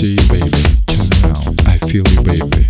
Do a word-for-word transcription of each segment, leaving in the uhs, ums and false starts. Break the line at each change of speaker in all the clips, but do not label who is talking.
see you, baby. Turn around, I feel you, baby.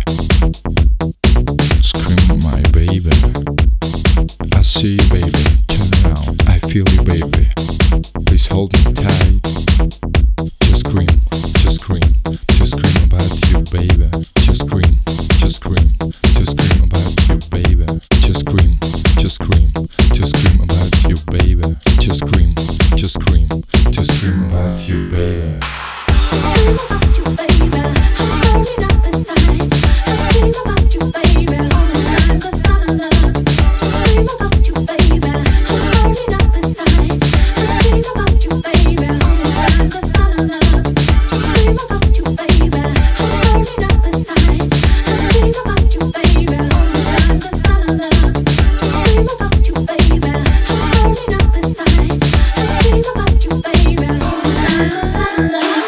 Scream, my baby. I see you, baby. Turn around, I feel you, baby. Please hold me tight. Just scream, just scream, just scream about you, baby. Just scream, just scream, just scream about you, baby. Just scream, just scream, just scream about you, baby. Just scream, just scream, just scream about you, baby.
Dream about you, baby. I'm rolling up inside. I dream about you, baby, all the time, 'cause I'm in love. Just dream about you, baby. I'm rolling up inside. I dream about you, baby, all the time, 'cause I'm in love. Just dream about you, baby. I'm rolling up inside. I dream about you, baby, all the time, 'cause I'm in love. Just dream about you, baby. I'm rolling up inside. I dream about you, baby, all the time, 'cause I'm in love.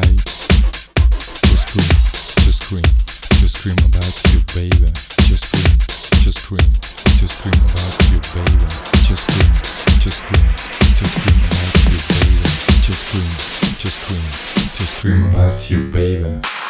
tight. Just scream, just scream, just scream about you, baby. Just scream, just scream, just scream about you, baby. Just scream, just scream, just scream about you, baby. Just scream, just scream, just scream about you, baby.